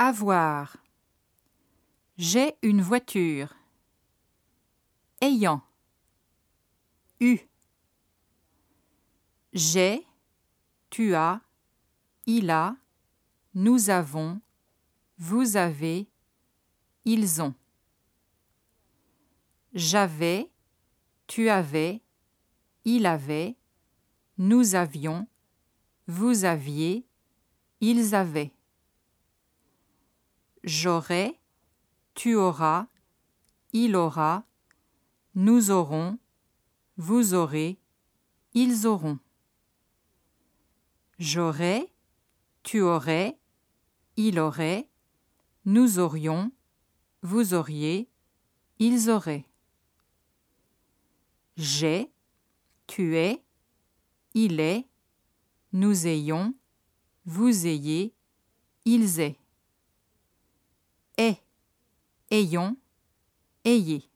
Avoir. J'ai une voiture. Ayant. Eu. J'ai, tu as, il a, nous avons, vous avez, ils ont. J'avais, tu avais, il avait, nous avions, vous aviez, ils avaient. J'aurai, tu auras, il aura, nous aurons, vous aurez, ils auront. J'aurais, tu aurais, il aurait, nous aurions, vous auriez, ils auraient. J'ai, tu es, il est, nous ayons, vous ayez, ils aient. Est, ayons, ayez.